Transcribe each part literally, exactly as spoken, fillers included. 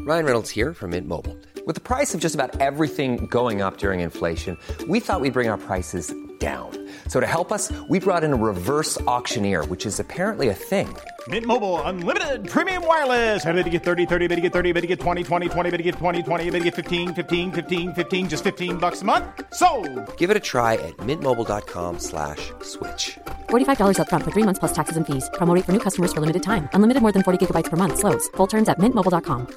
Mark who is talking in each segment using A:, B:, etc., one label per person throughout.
A: Ryan Reynolds here from Mint Mobile. With the price of just about everything going up during inflation, we thought we'd bring our prices down. So to help us, we brought in a reverse auctioneer, which is apparently a thing.
B: Mint Mobile Unlimited Premium Wireless. How to get thirty, thirty, how to get thirty, how to get twenty, twenty, twenty, how to get twenty, twenty, how to get fifteen, fifteen, fifteen, fifteen, just fifteen bucks a month? Sold!
A: Give it a try at mintmobile.com slash switch.
C: forty-five dollars up front for three months plus taxes and fees. Promo rate for new customers for limited time. Unlimited more than forty gigabytes per month. Slows full terms at mint mobile dot com.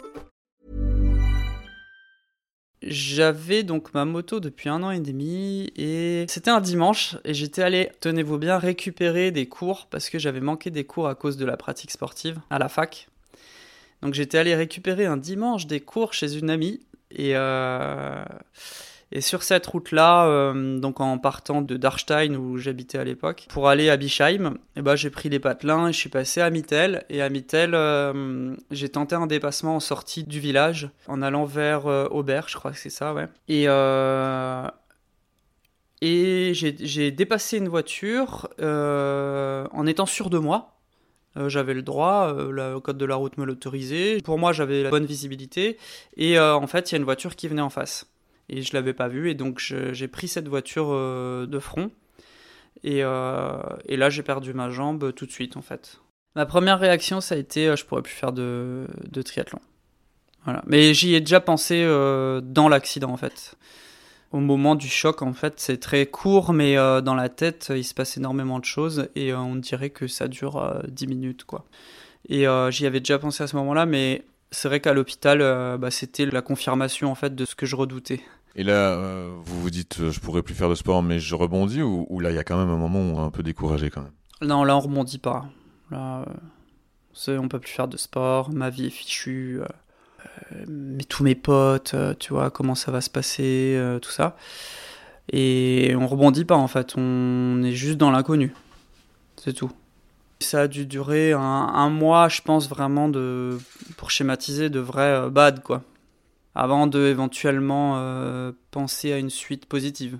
D: J'avais donc ma moto depuis un an et demi et c'était un dimanche et j'étais allé, tenez-vous bien, récupérer des cours parce que j'avais manqué des cours à cause de la pratique sportive à la fac. Donc j'étais allé récupérer un dimanche des cours chez une amie et, euh, et sur cette route-là, euh, donc en partant de Darstein où j'habitais à l'époque, pour aller à Bischheim, et ben j'ai pris les patelins et je suis passé à Mittel. Et à Mittel, euh, j'ai tenté un dépassement en sortie du village, en allant vers euh, Aubert, je crois que c'est ça, ouais. Et, euh, et j'ai, j'ai dépassé une voiture euh, en étant sûr de moi. Euh, j'avais le droit, euh, le code de la route me l'autorisait. Pour moi, j'avais la bonne visibilité. Et euh, en fait, il y a une voiture qui venait en face. Et je ne l'avais pas vue. Et donc, je, j'ai pris cette voiture euh, de front. Et, euh, et là, j'ai perdu ma jambe tout de suite, en fait. Ma première réaction, ça a été euh, je ne pourrais plus faire de, de triathlon. Voilà. Mais j'y ai déjà pensé euh, dans l'accident, en fait. Au moment du choc, en fait, c'est très court, mais euh, dans la tête, il se passe énormément de choses et euh, on dirait que ça dure euh, dix minutes, quoi. Et euh, j'y avais déjà pensé à ce moment-là, mais c'est vrai qu'à l'hôpital, euh, bah, c'était la confirmation, en fait, de ce que je redoutais.
E: Et là, euh, vous vous dites, euh, je pourrais plus faire de sport, mais je rebondis, ou, ou là, il y a quand même un moment où on est un peu découragé, quand même?
D: Non, là, on rebondit pas. Là, euh, c'est, on peut plus faire de sport, ma vie est fichue... Euh... mais tous mes potes, euh, tu vois, comment ça va se passer, euh, tout ça. Et on rebondit pas, en fait, on est juste dans l'inconnu. C'est tout. Ça a dû durer un, un mois, je pense, vraiment, de, pour schématiser, de vrai euh, bad, quoi. Avant de, éventuellement, euh, penser à une suite positive.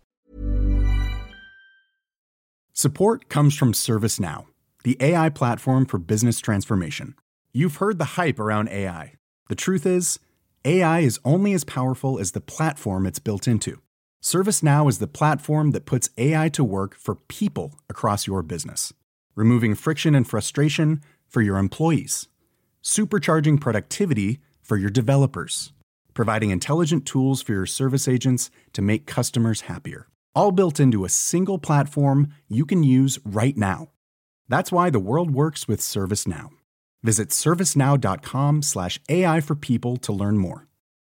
F: Support comes from ServiceNow, the A I platform for business transformation. You've heard the hype around A I. The truth is, A I is only as powerful as the platform it's built into. ServiceNow is the platform that puts A I to work for people across your business, removing friction and frustration for your employees, supercharging productivity for your developers, providing intelligent tools for your service agents to make customers happier, all built into a single platform you can use right now. That's why the world works with ServiceNow. Visit servicenow.com slash AI for people to learn more.